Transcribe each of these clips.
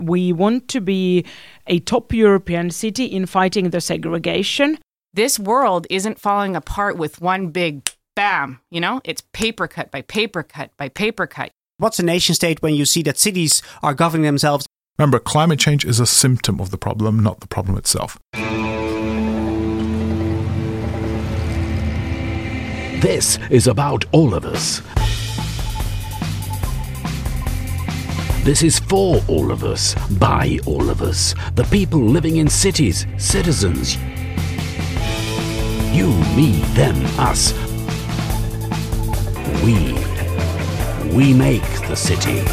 We want to be a top European city in fighting the segregation. This world isn't falling apart with one big bam, It's paper cut by paper cut by paper cut. What's a nation state when you see that cities are governing themselves? Remember, climate change is a symptom of the problem, not the problem itself. This is about all of us. This is for all of us, by all of us, the people living in cities, citizens. You, me, them, us. We make the city.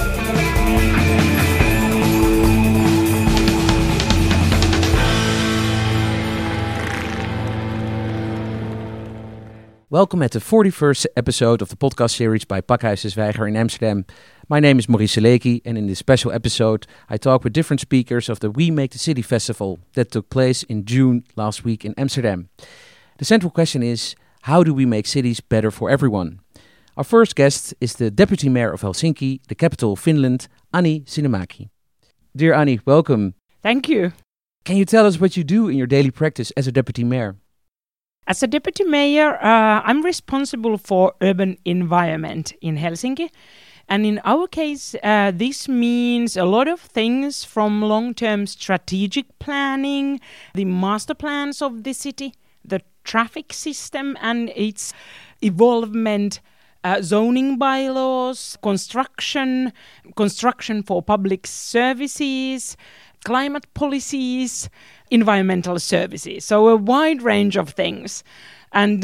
Welcome at the 41st episode of the podcast series by Pakhuis de Zwijger in Amsterdam. My name is Maurice Seleki, and in this special episode I talk with different speakers of the We Make the City festival that took place in June last week in Amsterdam. The central question is, how do we make cities better for everyone? Our first guest is the Deputy Mayor of Helsinki, the capital of Finland, Anni Sinnemäki. Dear Anni, welcome. Thank you. Can you tell us what you do in your daily practice as a Deputy Mayor? As a deputy mayor, I'm responsible for urban environment in Helsinki. And in our case, this means a lot of things from long-term strategic planning, the master plans of the city, the traffic system and its evolvement, zoning bylaws, construction for public services, climate policies, environmental services. So a wide range of things. And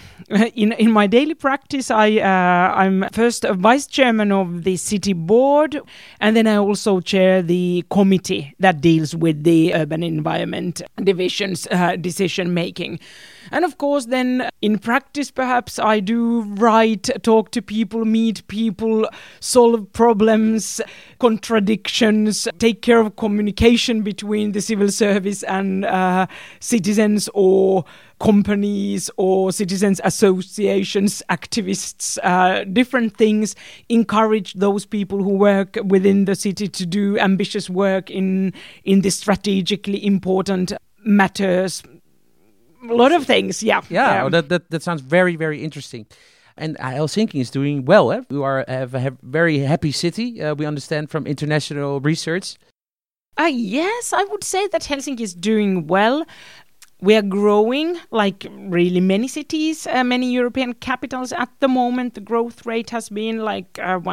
in my daily practice, I'm first a vice chairman of the city board, and then I also chair the committee that deals with the urban environment division's decision making. And of course, then in practice, perhaps I do write, talk to people, meet people, solve problems, contradictions, take care of communication between the civil service and citizens or companies or citizens associations, activists, different things, encourage those people who work within the city to do ambitious work in the strategically important matters. A lot of things, yeah. Yeah, that sounds very, very interesting. And Helsinki is doing well. Eh? We have a very happy city, we understand from international research. Yes, I would say that Helsinki is doing well. We are growing like really many cities, many European capitals at the moment. The growth rate has been like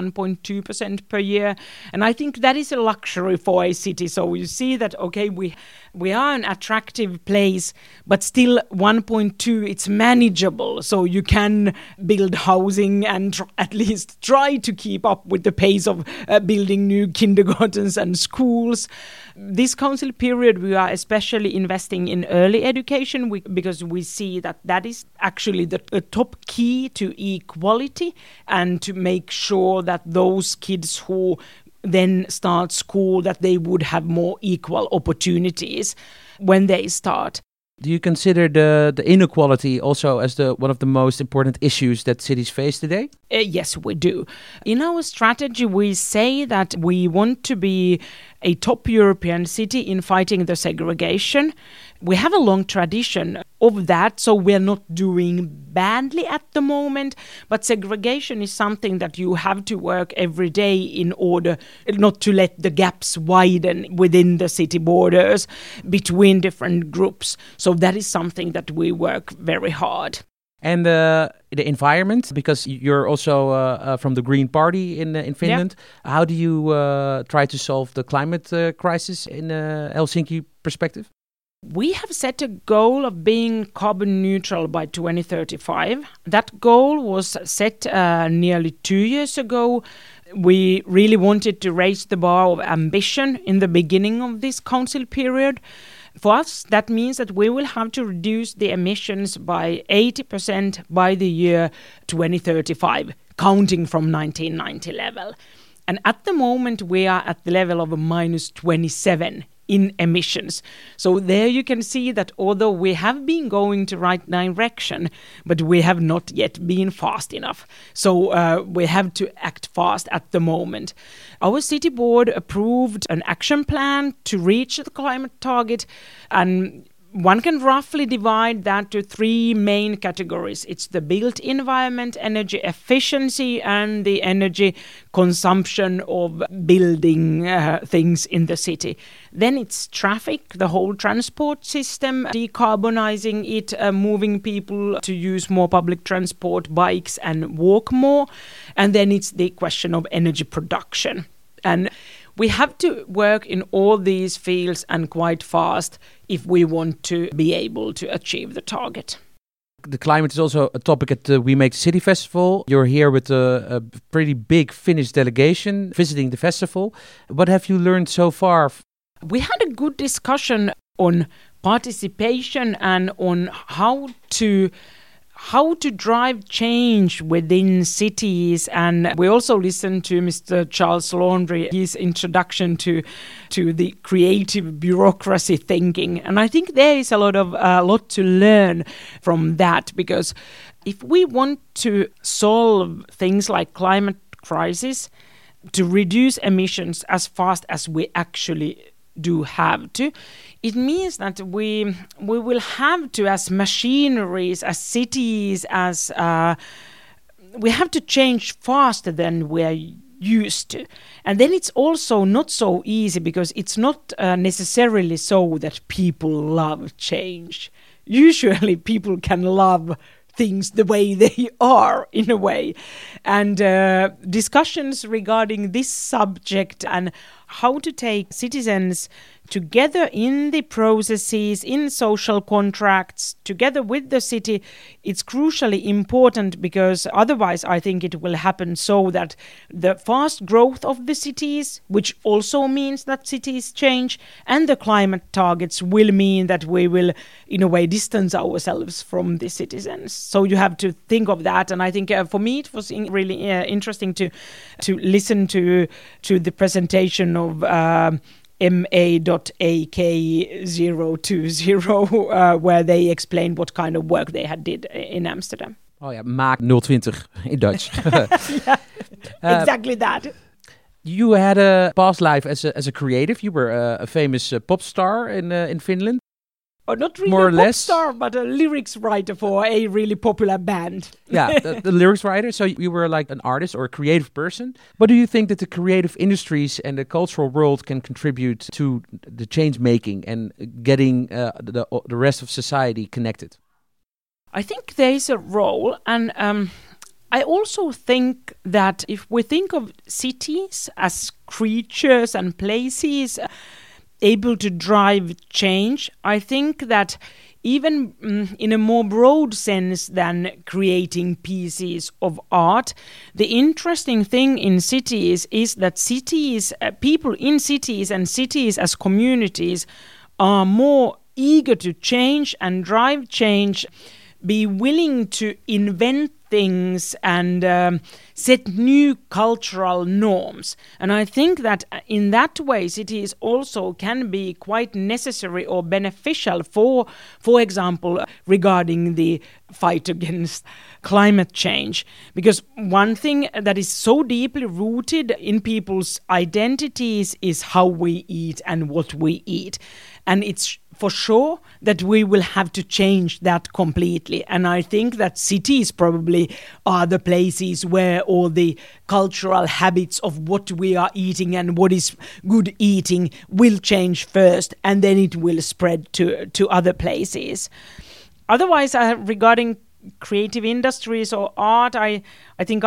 1.2% per year. And I think that is a luxury for a city. So you see that, okay, we are an attractive place, but still 1.2, it's manageable. So you can build housing and at least try to keep up with the pace of building new kindergartens and schools. This council period, we are especially investing in early education because we see that is actually the top key to equality and to make sure that those kids who then start school, that they would have more equal opportunities when they start. Do you consider the inequality also as one of the most important issues that cities face today? Yes, we do. In our strategy, we say that we want to be a top European city in fighting the segregation. We have a long tradition of that, so we're not doing badly at the moment. But segregation is something that you have to work every day in order not to let the gaps widen within the city borders between different groups. So that is something that we work very hard. And the environment, because you're also from the Green Party in Finland. Yeah. How do you try to solve the climate crisis in Helsinki perspective? We have set a goal of being carbon neutral by 2035. That goal was set nearly 2 years ago. We really wanted to raise the bar of ambition in the beginning of this council period. For us, that means that we will have to reduce the emissions by 80% by the year 2035, counting from 1990 level. And at the moment, we are at the level of a minus 27 in emissions. So there you can see that although we have been going to right direction, but we have not yet been fast enough. So we have to act fast at the moment. Our city board approved an action plan to reach the climate target, and one can roughly divide that to three main categories. It's the built environment, energy efficiency, and the energy consumption of building things in the city. Then it's traffic, the whole transport system, decarbonizing it, moving people to use more public transport, bikes, and walk more. And then it's the question of energy production. And we have to work in all these fields and quite fast if we want to be able to achieve the target. The climate is also a topic at the We Make the City Festival. You're here with a pretty big Finnish delegation visiting the festival. What have you learned so far? We had a good discussion on participation and on how to drive change within cities. And we also listened to Mr. Charles Laundrie, his introduction to the creative bureaucracy thinking. And I think there is a lot to learn from that, because if we want to solve things like climate crisis, to reduce emissions as fast as we actually do have to, it means that we will have to, as machineries, as cities, as we have to change faster than we're used to. And then it's also not so easy, because it's not necessarily so that people love change. Usually people can love things the way they are, in a way. And discussions regarding this subject and how to take citizens together in the processes, in social contracts, together with the city, it's crucially important, because otherwise I think it will happen so that the fast growth of the cities, which also means that cities change, and the climate targets will mean that we will, in a way, distance ourselves from the citizens. So you have to think of that. And I think for me it was really interesting to listen to the presentation of MA.AK020 where they explained what kind of work they had did in Amsterdam. Oh ja, Maak 020 in Dutch. Yeah, exactly that. You had a past life as a creative. You were a famous pop star in Finland. Oh, not really more or a pop less star, but a lyrics writer for a really popular band. Yeah, the lyrics writer. So you were like an artist or a creative person. But do you think that the creative industries and the cultural world can contribute to the change making and getting the rest of society connected? I think there is a role, and I also think that if we think of cities as creatures and places able to drive change, I think that even in a more broad sense than creating pieces of art, the interesting thing in cities is that cities, people in cities and cities as communities are more eager to change and drive change, be willing to invent things and set new cultural norms. And I think that in that way cities also can be quite necessary or beneficial for example, regarding the fight against climate change. Because one thing that is so deeply rooted in people's identities is how we eat and what we eat. And it's for sure that we will have to change that completely. And I think that cities probably are the places where all the cultural habits of what we are eating and what is good eating will change first, and then it will spread to other places. Otherwise, regarding creative industries or art, I think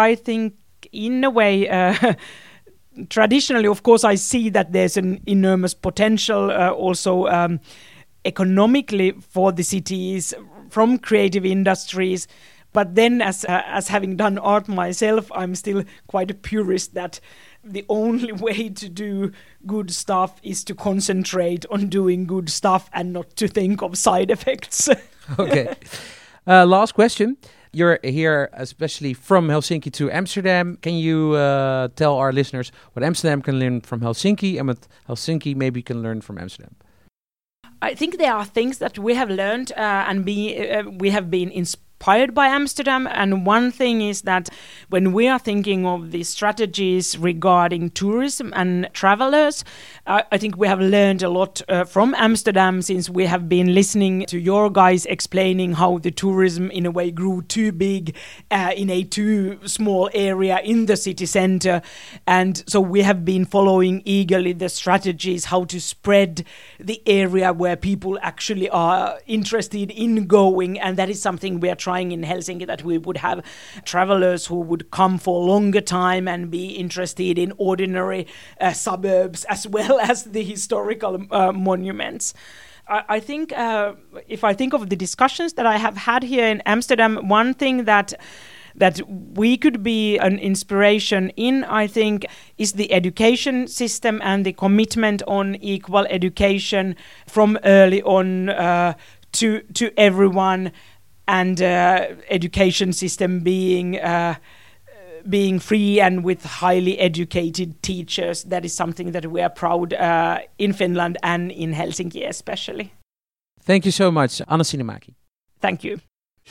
in a way traditionally, of course, I see that there's an enormous potential also economically for the cities from creative industries. But then as having done art myself, I'm still quite a purist that the only way to do good stuff is to concentrate on doing good stuff and not to think of side effects. Okay. Last question. You're here especially from Helsinki to Amsterdam. Can you tell our listeners what Amsterdam can learn from Helsinki and what Helsinki maybe can learn from Amsterdam? I think there are things that we have learned and we have been inspired by Amsterdam. And one thing is that when we are thinking of the strategies regarding tourism and travelers, I think we have learned a lot from Amsterdam, since we have been listening to your guys explaining how the tourism in a way grew too big in a too small area in the city center. And so we have been following eagerly the strategies, how to spread the area where people actually are interested in going. And that is something we are trying in Helsinki, that we would have travelers who would come for a longer time and be interested in ordinary suburbs as well as the historical monuments. I think if I think of the discussions that I have had here in Amsterdam, one thing that we could be an inspiration in, I think, is the education system and the commitment on equal education from early on to everyone. And education system being free and with highly educated teachers. That is something that we are proud in Finland and in Helsinki especially. Thank you so much, Anna Sinemaki. Thank you.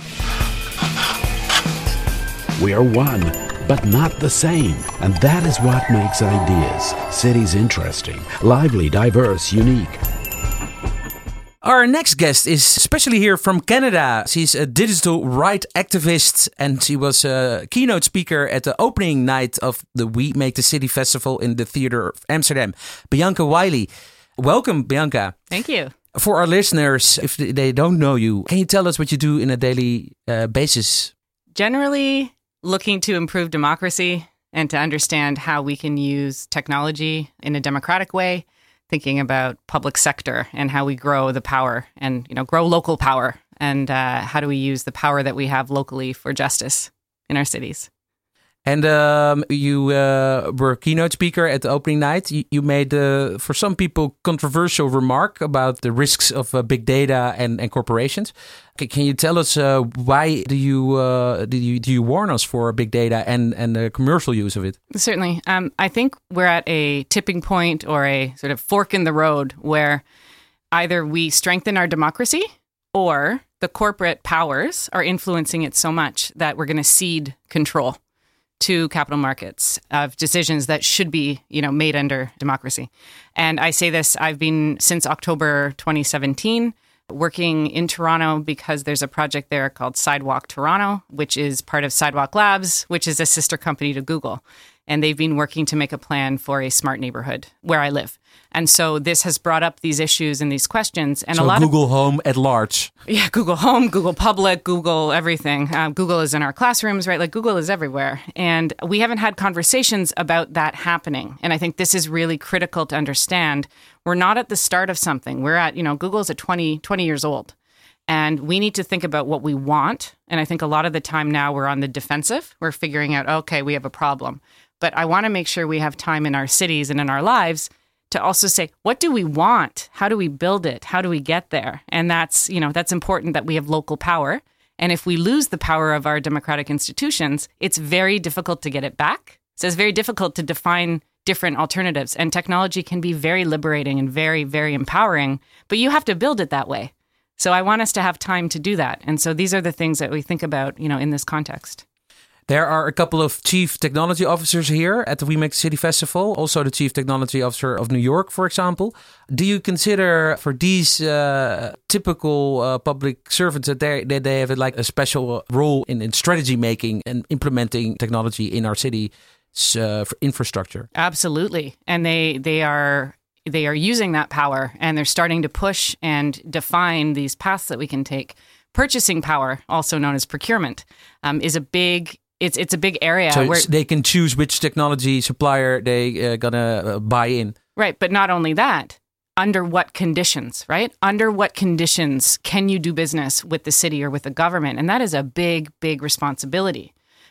We are one, but not the same. And that is what makes ideas, cities interesting, lively, diverse, unique. Our next guest is especially here from Canada. She's a digital rights activist, and she was a keynote speaker at the opening night of the We Make the City Festival in the Theatre of Amsterdam. Bianca Wiley. Welcome, Bianca. Thank you. For our listeners, if they don't know you, can you tell us what you do in a daily basis? Generally, looking to improve democracy and to understand how we can use technology in a democratic way. Thinking about public sector and how we grow the power and, grow local power, and how do we use the power that we have locally for justice in our cities. And you were a keynote speaker at the opening night. You made, for some people, controversial remark about the risks of big data and corporations. Can you tell us why do you warn us for big data and the commercial use of it? Certainly. I think we're at a tipping point or a sort of fork in the road where either we strengthen our democracy or the corporate powers are influencing it so much that we're going to cede control to capital markets of decisions that should be, made under democracy. And I say this, I've been since October 2017 working in Toronto because there's a project there called Sidewalk Toronto, which is part of Sidewalk Labs, which is a sister company to Google. And they've been working to make a plan for a smart neighborhood where I live. And so this has brought up these issues and these questions. And so a lot Google of Home at large. Yeah, Google Home, Google Public, Google everything. Google is in our classrooms, right? Like Google is everywhere. And we haven't had conversations about that happening. And I think this is really critical to understand. We're not at the start of something. We're at, Google's at 20 years old. And we need to think about what we want. And I think a lot of the time now we're on the defensive. We're figuring out, okay, we have a problem. But I want to make sure we have time in our cities and in our lives to also say, what do we want? How do we build it? How do we get there? And that's important that we have local power. And if we lose the power of our democratic institutions, it's very difficult to get it back. So it's very difficult to define different alternatives. And technology can be very liberating and very, very empowering, but you have to build it that way. So I want us to have time to do that. And so these are the things that we think about, in this context. There are a couple of chief technology officers here at the We Make the City Festival. Also the chief technology officer of New York, for example. Do you consider for these typical public servants that they have like a special role in strategy making and implementing technology in our city infrastructure? Absolutely. And they are using that power, and they're starting to push and define these paths that we can take. Purchasing power, also known as procurement, is a big... It's a big area. So where they can choose which technology supplier they gonna buy in. Right, but not only that, under what conditions, right? Under what conditions can you do business with the city or with the government? And that is a big, big responsibility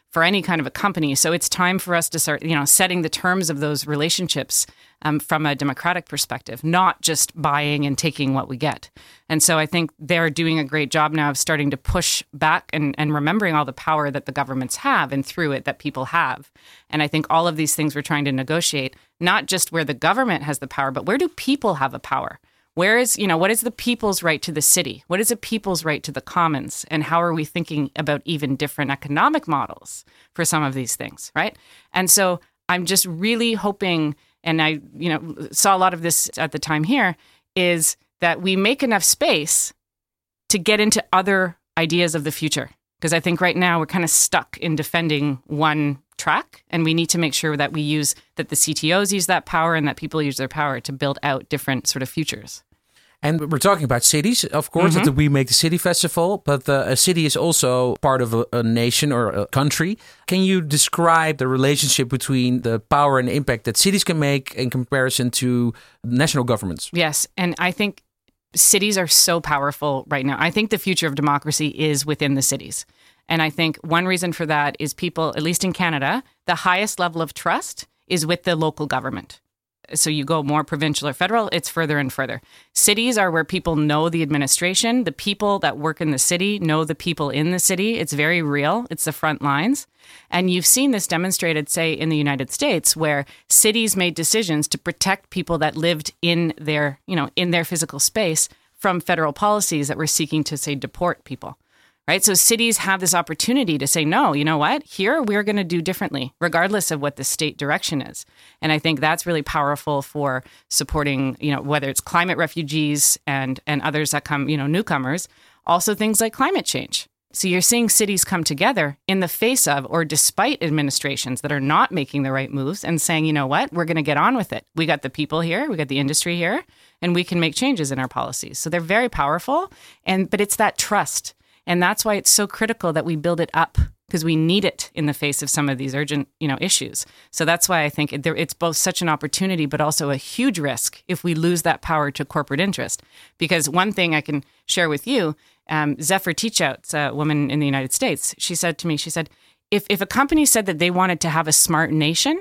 for any kind of a company. So it's time for us to start, setting the terms of those relationships from a democratic perspective, not just buying and taking what we get. And so I think they're doing a great job now of starting to push back and remembering all the power that the governments have and through it that people have. And I think all of these things we're trying to negotiate, not just where the government has the power, but where do people have a power? Where is, what is the people's right to the city? What is the people's right to the commons? And how are we thinking about even different economic models for some of these things, right? And so I'm just really hoping, and I, saw a lot of this at the time here, is that we make enough space to get into other ideas of the future. Because I think right now we're kind of stuck in defending one track, and we need to make sure that that the CTOs use that power and that people use their power to build out different sort of futures. And we're talking about cities, of course, at the We Make the City Festival, but a city is also part of a nation or a country. Can you describe the relationship between the power and impact that cities can make in comparison to national governments? Yes, and I think cities are so powerful right now. I think the future of democracy is within the cities. And I think one reason for that is people, at least in Canada, the highest level of trust is with the local government. So you go more provincial or federal, it's further and further. Cities are where people know the administration. The people that work in the city know the people in the city. It's very real. It's the front lines. And you've seen this demonstrated, say, in the United States, where cities made decisions to protect people that lived in their physical space from federal policies that were seeking to, say, deport people. Right? So cities have this opportunity to say, no, you know what? Here we're going to do differently, regardless of what the state direction is. And I think that's really powerful for supporting, whether it's climate refugees and others that come, newcomers, also things like climate change. So you're seeing cities come together in the face of or despite administrations that are not making the right moves and saying, you know what? We're going to get on with it. We got the people here, we got the industry here, and we can make changes in our policies. So they're very powerful. But it's that trust. And that's why it's so critical that we build it up, because we need it in the face of some of these urgent, issues. So that's why I think it's both such an opportunity, but also a huge risk if we lose that power to corporate interest. Because one thing I can share with you, Zephyr Teachout's a woman in the United States. She said to me, if a company said that they wanted to have a smart nation,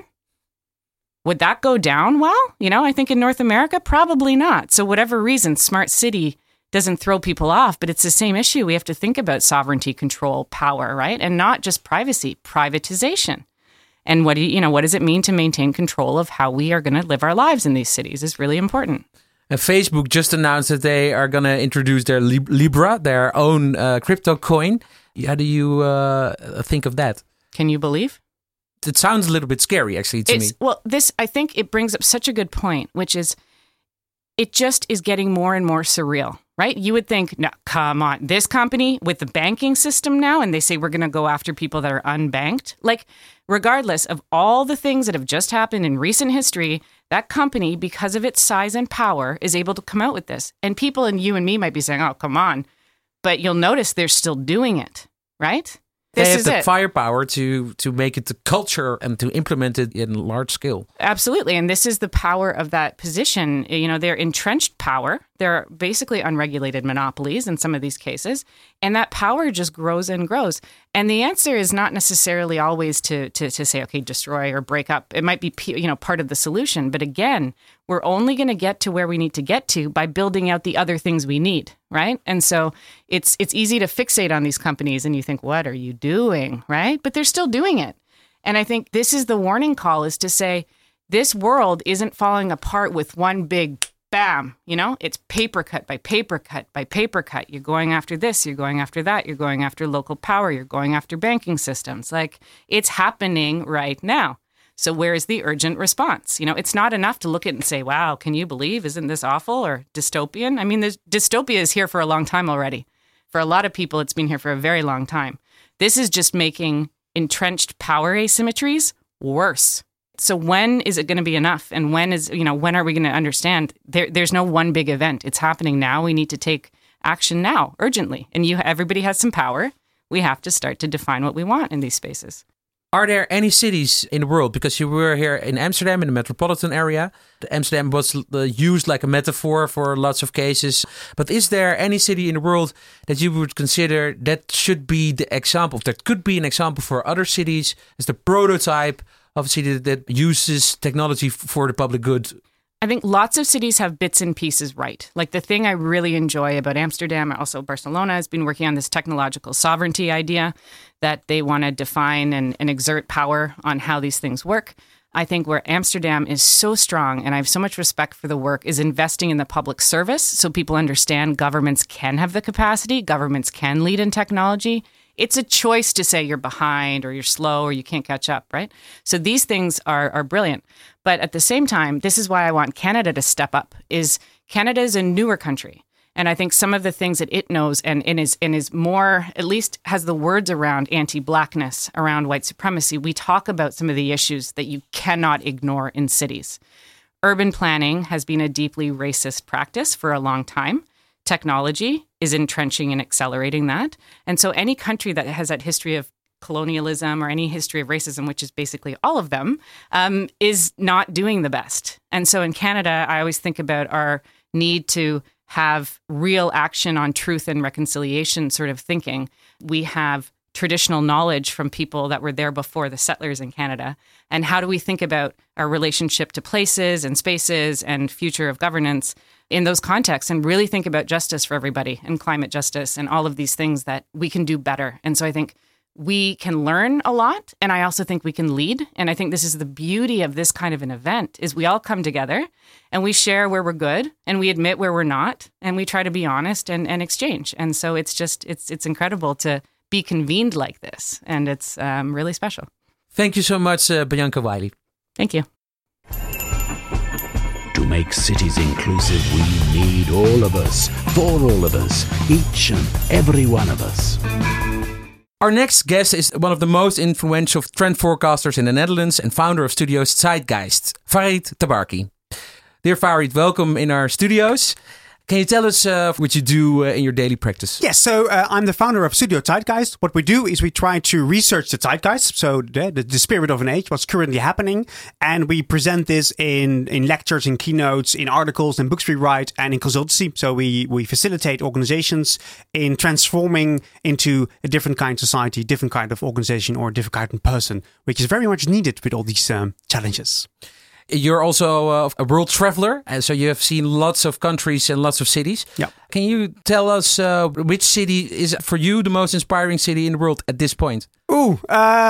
would that go down well? I think in North America, probably not. So whatever reason, smart city doesn't throw people off, but it's the same issue. We have to think about sovereignty, control, power, right? And not just privacy, privatization. And what does it mean to maintain control of how we are going to live our lives in these cities is really important. And Facebook just announced that they are going to introduce their Libra, their own crypto coin. How do you think of that? Can you believe? It sounds a little bit scary, actually, to me. Well, I think it brings up such a good point, which is it just is getting more and more surreal. Right? You would think, no, come on, this company with the banking system now, and they say we're going to go after people that are unbanked. Like, regardless of all the things that have just happened in recent history, that company, because of its size and power, is able to come out with this. And people and you and me might be saying, oh, come on. But you'll notice they're still doing it, right? They have the firepower to make it the culture and to implement it in large scale. Absolutely. And this is the power of that position. They're entrenched power. They're basically unregulated monopolies in some of these cases. And that power just grows and grows. And the answer is not necessarily always to say, okay, destroy or break up. It might be, part of the solution. But again, we're only going to get to where we need to get to by building out the other things we need, right? And so it's easy to fixate on these companies and you think, what are you doing, right? But they're still doing it. And I think this is the warning call, is to say, this world isn't falling apart with one big bam, it's paper cut by paper cut by paper cut. You're going after this, you're going after that, you're going after local power, you're going after banking systems. Like, it's happening right now. So where is the urgent response? It's not enough to look at it and say, wow, can you believe, isn't this awful or dystopian? I mean, dystopia is here for a long time already. For a lot of people, it's been here for a very long time. This is just making entrenched power asymmetries worse. So when is it going to be enough? And when are we going to understand there's no one big event? It's happening now. We need to take action now, urgently. And everybody has some power. We have to start to define what we want in these spaces. Are there any cities in the world, because you were here in Amsterdam, in the metropolitan area, Amsterdam was used like a metaphor for lots of cases, but is there any city in the world that you would consider that should be the example, that could be an example for other cities as the prototype of a city that uses technology for the public good? I think lots of cities have bits and pieces right. Like the thing I really enjoy about Amsterdam, also Barcelona, has been working on this technological sovereignty idea that they want to define and exert power on how these things work. I think where Amsterdam is so strong, and I have so much respect for the work, is investing in the public service so people understand governments can have the capacity, governments can lead in technology. It's a choice to say you're behind or you're slow or you can't catch up, right? So these things are brilliant. But at the same time, this is why I want Canada to step up, is Canada is a newer country. And I think some of the things that it knows and is more, at least has the words around anti-Blackness, around white supremacy. We talk about some of the issues that you cannot ignore in cities. Urban planning has been a deeply racist practice for a long time. Technology is entrenching and accelerating that. And so any country that has that history of colonialism or any history of racism, which is basically all of them, is not doing the best. And so in Canada, I always think about our need to have real action on truth and reconciliation sort of thinking. We have traditional knowledge from people that were there before the settlers in Canada. And how do we think about our relationship to places and spaces and future of governance in those contexts, and really think about justice for everybody and climate justice and all of these things that we can do better. And so I think we can learn a lot, and I also think we can lead. And I think this is the beauty of this kind of an event, is we all come together and we share where we're good and we admit where we're not, and we try to be honest and exchange. And so it's just, it's incredible to be convened like this, and it's really special. Thank you so much, Bianca Wiley. Thank you. To make cities inclusive, we need all of us, for all of us, each and every one of us. Our next guest is one of the most influential trend forecasters in the Netherlands and founder of studios Zeitgeist, Farid Tabarki. Dear Farid, welcome in our studios. Can you tell us what you do in your daily practice? Yes, so I'm the founder of Studio Zeitgeist. What we do is we try to research the zeitgeist, so the spirit of an age, what's currently happening, and we present this in lectures, in keynotes, in articles, in books we write, and in consultancy. So we facilitate organizations in transforming into a different kind of society, different kind of organization, or a different kind of person, which is very much needed with all these challenges. You're also a world traveler, and so you have seen lots of countries and lots of cities. Yeah. Can you tell us which city is for you the most inspiring city in the world at this point? Well,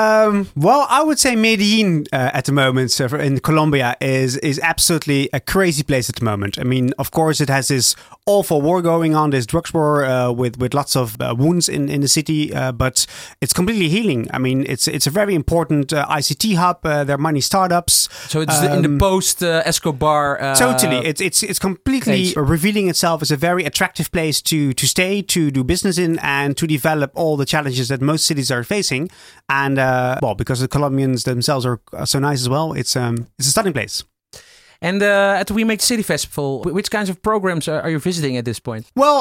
I would say Medellin at the moment in Colombia is absolutely a crazy place at the moment. I mean, of course, it has this awful war going on, this drugs war with lots of wounds in the city, but it's completely healing. I mean, it's a very important ICT hub. There are many startups. So it's in the post Escobar. Totally, it's completely revealing itself as a very attractive place to stay, to do business in, and to develop all the challenges that most cities are facing. And because the Colombians themselves are so nice as well, it's a stunning place. And at the We Make the City Festival, which kinds of programs are you visiting at this point? Well,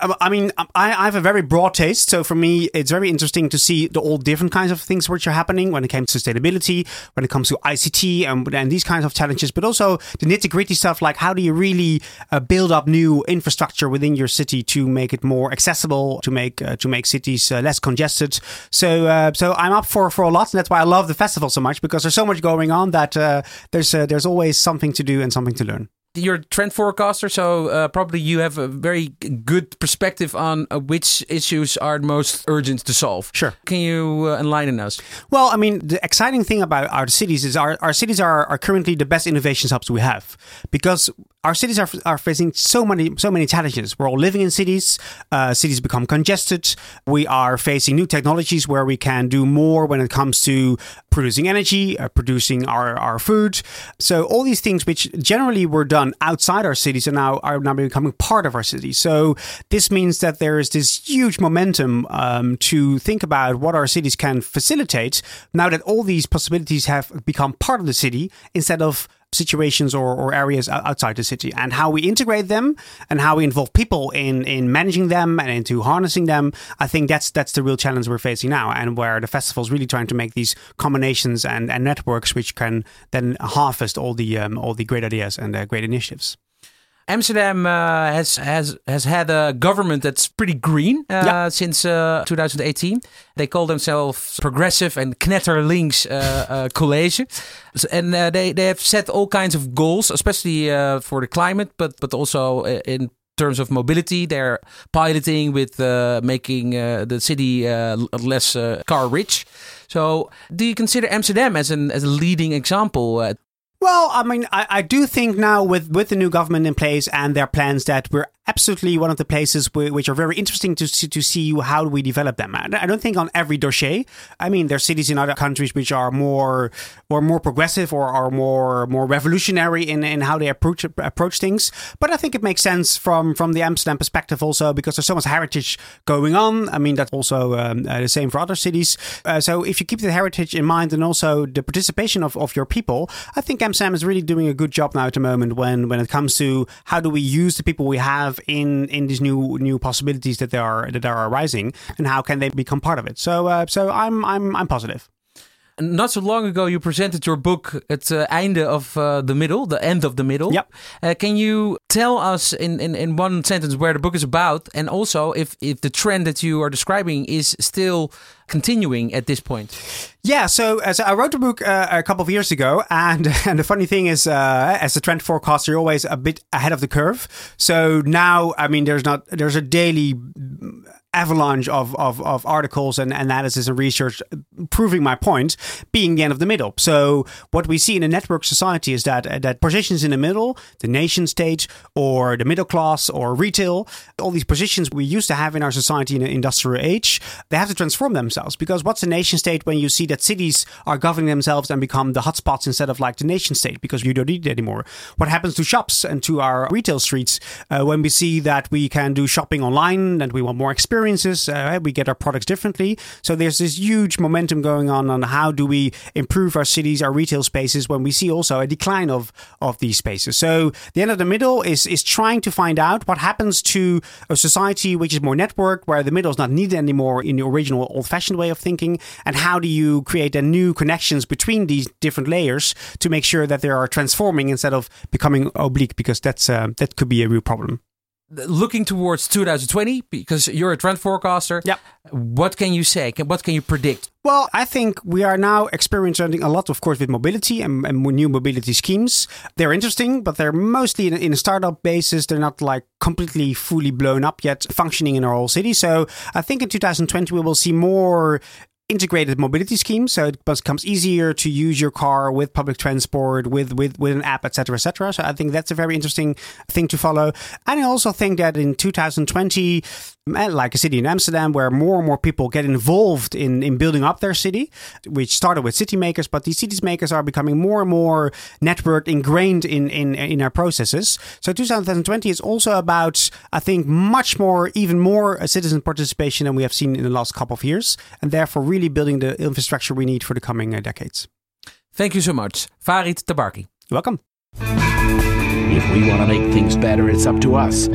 I have a very broad taste. So for me, it's very interesting to see all different kinds of things which are happening when it comes to sustainability, when it comes to ICT and these kinds of challenges, but also the nitty-gritty stuff like how do you really build up new infrastructure within your city to make it more accessible, to make cities less congested. So I'm up for a lot, and that's why I love the festival so much, because there's so much going on that there's always something to do and something to learn. You're a trend forecaster, so probably you have a very good perspective on which issues are most urgent to solve. Sure. Can you enlighten us? Well, I mean, the exciting thing about our cities is our cities are currently the best innovation hubs we have, because our cities are facing so many challenges. We're all living in cities. Cities become congested. We are facing new technologies where we can do more when it comes to producing energy, producing our food. So all these things which generally were done outside our cities are now becoming part of our cities. So this means that there is this huge momentum to think about what our cities can facilitate now that all these possibilities have become part of the city, instead of situations or areas outside the city, and how we integrate them and how we involve people in managing them and into harnessing them. I think that's the real challenge we're facing now, and where the festival is really trying to make these combinations and networks which can then harvest all the great ideas and great initiatives. Amsterdam has had a government that's pretty green since 2018. They call themselves Progressive and Knetterlinks College. And they have set all kinds of goals, especially for the climate, but also in terms of mobility. They're piloting with making the city less car rich. So do you consider Amsterdam as a leading example? Well, I mean, I do think now with the new government in place and their plans that we're absolutely one of the places which are very interesting to see how do we develop them. I don't think on every dossier. I mean, there are cities in other countries which are more progressive or are more revolutionary in how they approach things. But I think it makes sense from the Amsterdam perspective also, because there's so much heritage going on. I mean, that's also the same for other cities. So if you keep the heritage in mind and also the participation of your people, I think Amsterdam is really doing a good job now at the moment when it comes to how do we use the people we have in these new possibilities that are arising, and how can they become part of it. So I'm positive. Not so long ago, you presented your book at Einde of the Middle, the end of the middle. Yep. Can you tell us in one sentence where the book is about, and also if the trend that you are describing is still continuing at this point? Yeah, so as I wrote the book a couple of years ago, and the funny thing is, as a trend forecaster, you're always a bit ahead of the curve. So now, I mean, there's a daily avalanche of articles and analysis and research proving my point, being the end of the middle. So what we see in a network society is that positions in the middle, the nation state or the middle class or retail, all these positions we used to have in our society in the industrial age, they have to transform themselves. Because what's a nation state when you see that cities are governing themselves and become the hotspots instead of like the nation state, because you don't need it anymore? What happens to shops and to our retail streets when we see that we can do shopping online and we want more experiences? We get our products differently. So there's this huge momentum going on how do we improve our cities, our retail spaces, when we see also a decline of these spaces. So the end of the middle is trying to find out what happens to a society which is more networked, where the middle is not needed anymore in the original old-fashioned way of thinking, and how do you create new connections between these different layers to make sure that they are transforming instead of becoming oblique, because that could be a real problem. Looking towards 2020, because you're a trend forecaster, what can you say? What can you predict? Well, I think we are now experiencing a lot, of course, with mobility and new mobility schemes. They're interesting, but they're mostly in a startup basis. They're not like completely fully blown up yet, functioning in our whole city. So I think in 2020, we will see more integrated mobility schemes, so it becomes easier to use your car with public transport, with an app, etc., etc. So I think that's a very interesting thing to follow. And I also think that in 2020, like a city in Amsterdam, where more and more people get involved in building up their city, which started with city makers, but these city makers are becoming more and more networked, ingrained in our processes. So 2020 is also about, I think, even more citizen participation than we have seen in the last couple of years, and therefore really building the infrastructure we need for the coming decades. Thank you so much, Farid Tabarki. You're welcome. If we want to make things better, it's up to us.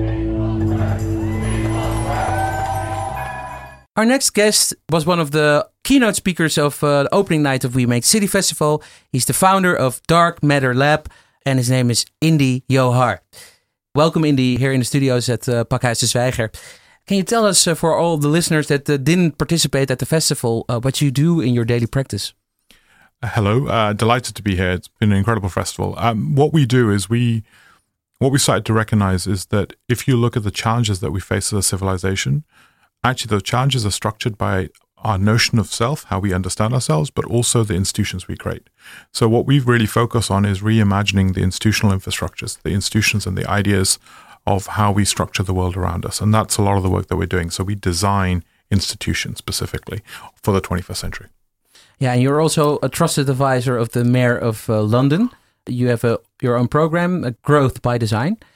Our next guest was one of the keynote speakers of the opening night of We Make City Festival. He's the founder of Dark Matter Lab, and his name is Indy Johar. Welcome, Indy, here in the studios at Pakhuis de Zwijger. Can you tell us, for all the listeners that didn't participate at the festival, what you do in your daily practice? Hello, delighted to be here. It's been an incredible festival. What we do is what we started to recognize is that if you look at the challenges that we face as a civilization, actually those challenges are structured by our notion of self, how we understand ourselves, but also the institutions we create. So what we really focus on is reimagining the institutional infrastructures, the institutions and the ideas of how we structure the world around us. And that's a lot of the work that we're doing. So we design institutions specifically for the 21st century. Yeah, and you're also a trusted advisor of the Mayor of London. You have your own program, Growth by Design. Mm-hmm.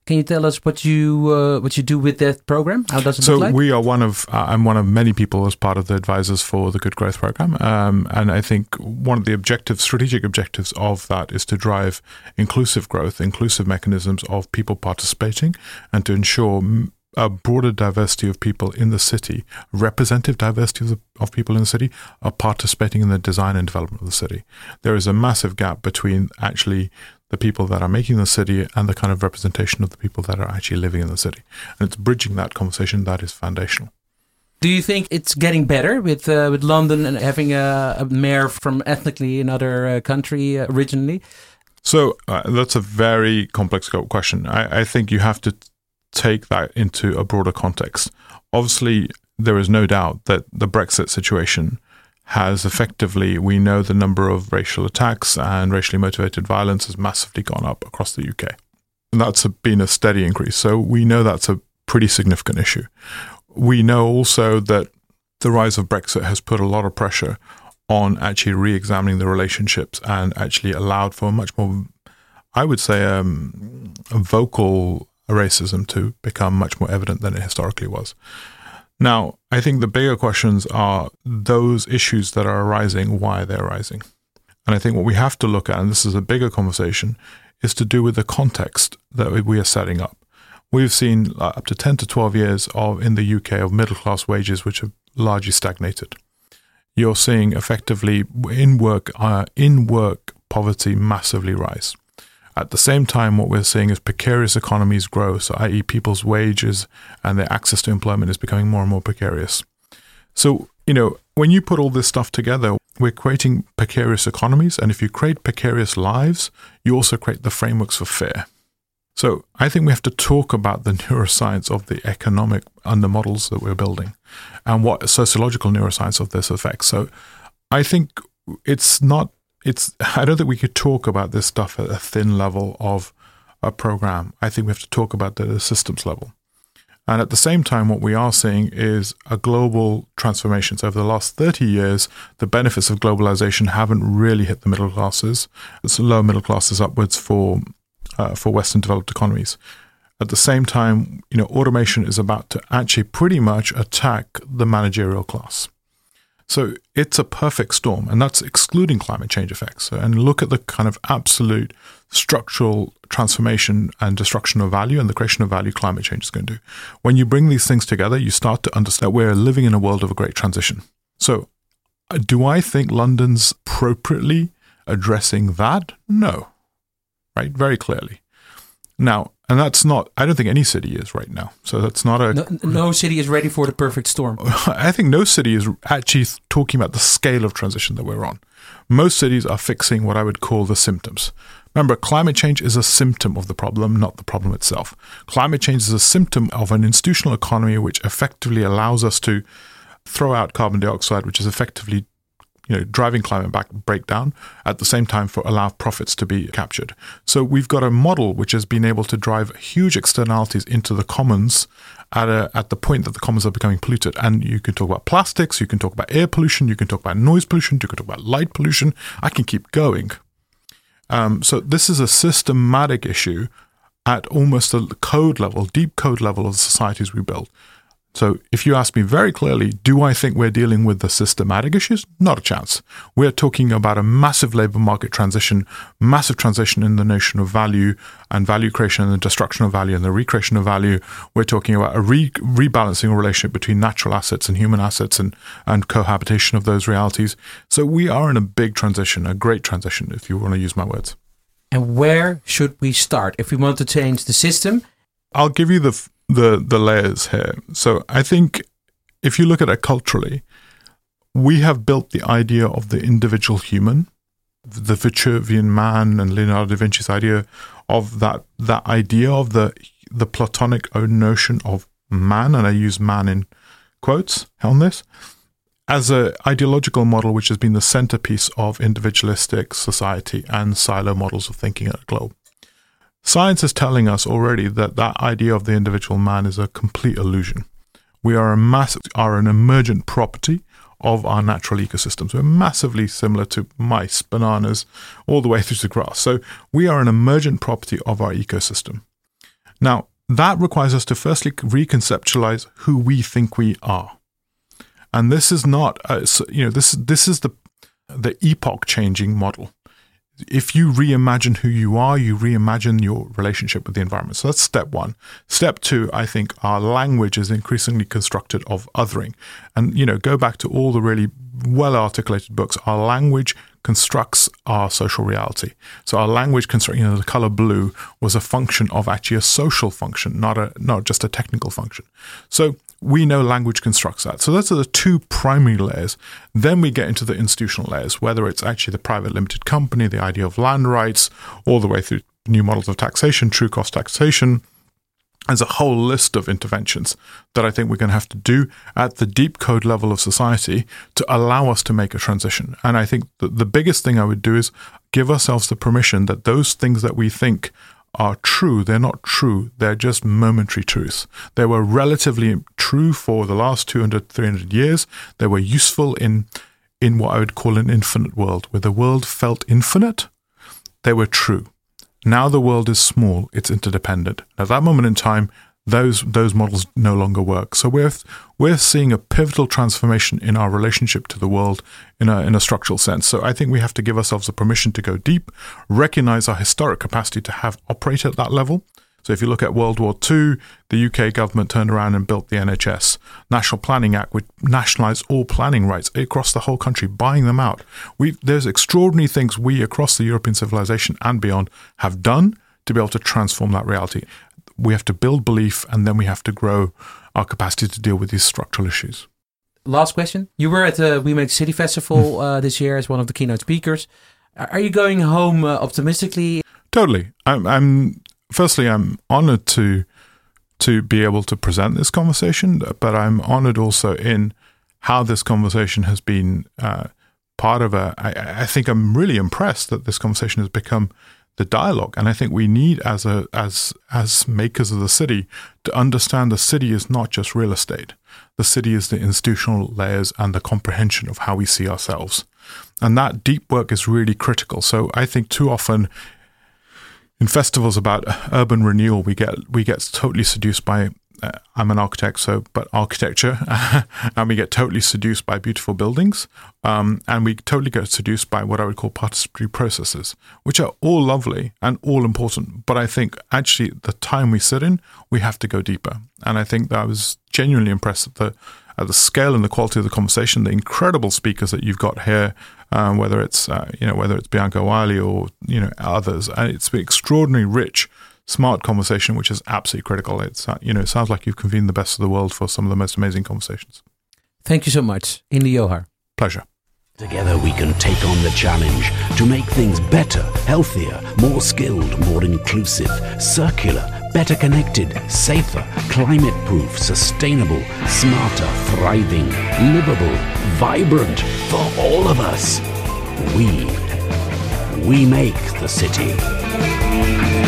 Can you tell us what you do with that program? How does it look like? So we are I'm one of many people as part of the advisors for the Good Growth Program. And I think one of the strategic objectives of that is to drive inclusive growth, inclusive mechanisms of people participating, and to ensure a broader diversity of people in the city, representative diversity of people in the city, are participating in the design and development of the city. There is a massive gap between actually the people that are making the city and the kind of representation of the people that are actually living in the city. And it's bridging that conversation that is foundational. Do you think it's getting better with London and having a mayor from ethnically another country originally? So that's a very complex question. I think you have to take that into a broader context. Obviously, there is no doubt that the Brexit situation has effectively, we know the number of racial attacks and racially motivated violence has massively gone up across the UK. And that's been a steady increase. So we know that's a pretty significant issue. We know also that the rise of Brexit has put a lot of pressure on actually re-examining the relationships and actually allowed for much more, I would say, a vocal racism to become much more evident than it historically was. Now, I think the bigger questions are those issues that are arising, why they're arising. And I think what we have to look at, and this is a bigger conversation, is to do with the context that we are setting up. We've seen up to 10 to 12 years in the UK of middle-class wages which have largely stagnated. You're seeing effectively in-work poverty massively rise. At the same time, what we're seeing is precarious economies grow, so i.e. people's wages and their access to employment is becoming more and more precarious. So, when you put all this stuff together, we're creating precarious economies, and if you create precarious lives, you also create the frameworks for fear. So I think we have to talk about the neuroscience of the economic under models that we're building and what sociological neuroscience of this affects. So I think I don't think we could talk about this stuff at a thin level of a program. I think we have to talk about it at a systems level. And at the same time, what we are seeing is a global transformation. So over the last 30 years, the benefits of globalization haven't really hit the middle classes. It's lower middle classes upwards for Western developed economies. At the same time, automation is about to actually pretty much attack the managerial class. So it's a perfect storm, and that's excluding climate change effects. And look at the kind of absolute structural transformation and destruction of value and the creation of value climate change is going to do. When you bring these things together, you start to understand we're living in a world of a great transition. So do I think London's appropriately addressing that? No. Right? Very clearly. Now, and that's not, I don't think any city is right now. So that's not No city is ready for the perfect storm. I think no city is actually talking about the scale of transition that we're on. Most cities are fixing what I would call the symptoms. Remember, climate change is a symptom of the problem, not the problem itself. Climate change is a symptom of an institutional economy which effectively allows us to throw out carbon dioxide, which is effectively driving climate breakdown, at the same time allow profits to be captured. So we've got a model which has been able to drive huge externalities into the commons at the point that the commons are becoming polluted. And you can talk about plastics, you can talk about air pollution, you can talk about noise pollution, you can talk about light pollution. I can keep going. So this is a systematic issue at almost a code level, deep code level of the societies we build. So if you ask me very clearly, do I think we're dealing with the systematic issues? Not a chance. We're talking about a massive labor market transition, massive transition in the notion of value and value creation and the destruction of value and the recreation of value. We're talking about a rebalancing relationship between natural assets and human assets and cohabitation of those realities. So we are in a big transition, a great transition, if you want to use my words. And where should we start if we want to change the system? I'll give you the layers here. So I think if you look at it culturally, we have built the idea of the individual human, the Vitruvian man and Leonardo da Vinci's idea of that idea of the Platonic notion of man, and I use man in quotes on this, as an ideological model which has been the centerpiece of individualistic society and silo models of thinking at a globe. Science is telling us already that idea of the individual man is a complete illusion. We are an emergent property of our natural ecosystems. We're massively similar to mice, bananas, all the way through to grass. So we are an emergent property of our ecosystem. Now, that requires us to firstly reconceptualize who we think we are. And this is not, this is the epoch-changing model. If you reimagine who you are, you reimagine your relationship with the environment. So that's step one. Step two, I think our language is increasingly constructed of othering. And, go back to all the really well-articulated books. Our language constructs our social reality. So our language the color blue was a function of actually a social function, not just a technical function. So we know language constructs that. So those are the two primary layers. Then we get into the institutional layers, whether it's actually the private limited company, the idea of land rights, all the way through new models of taxation, true cost taxation. There's a whole list of interventions that I think we're going to have to do at the deep code level of society to allow us to make a transition. And I think the biggest thing I would do is give ourselves the permission that those things that we think are true, they're not true, they're just momentary truths. They were relatively true for the last 200, 300 years. They were useful in what I would call an infinite world. Where the world felt infinite, they were true. Now the world is small, it's interdependent. At that moment in time, those models no longer work. So we're seeing a pivotal transformation in our relationship to the world in a structural sense. So I think we have to give ourselves the permission to go deep, recognize our historic capacity to have operate at that level. So if you look at World War II, the UK government turned around and built the NHS. National Planning Act would nationalise all planning rights across the whole country, buying them out. There's extraordinary things we across the European civilization and beyond have done to be able to transform that reality. We have to build belief, and then we have to grow our capacity to deal with these structural issues. Last question. You were at the We Make City Festival this year as one of the keynote speakers. Are you going home optimistically? Totally. Firstly, I'm honored to be able to present this conversation, but I'm honored also in how this conversation has been part of I think I'm really impressed that this conversation has become the dialogue. And I think we need, as makers of the city, to understand the city is not just real estate. The city is the institutional layers and the comprehension of how we see ourselves. And that deep work is really critical. So I think too often in festivals about urban renewal, we get totally seduced by, I'm an architect, but architecture, and we get totally seduced by beautiful buildings, and we totally get seduced by what I would call participatory processes, which are all lovely and all important. But I think actually the time we sit in, we have to go deeper. And I think that I was genuinely impressed at the scale and the quality of the conversation, the incredible speakers that you've got here, whether it's Bianca Wiley or others. And it's been extraordinarily rich, smart conversation, which is absolutely critical. It's it sounds like you've convened the best of the world for some of the most amazing conversations. Thank you so much, Indy Johar. Pleasure. Together we can take on the challenge to make things better, healthier, more skilled, more inclusive, circular, better connected, safer, climate-proof, sustainable, smarter, thriving, livable, vibrant for all of us. We make the city.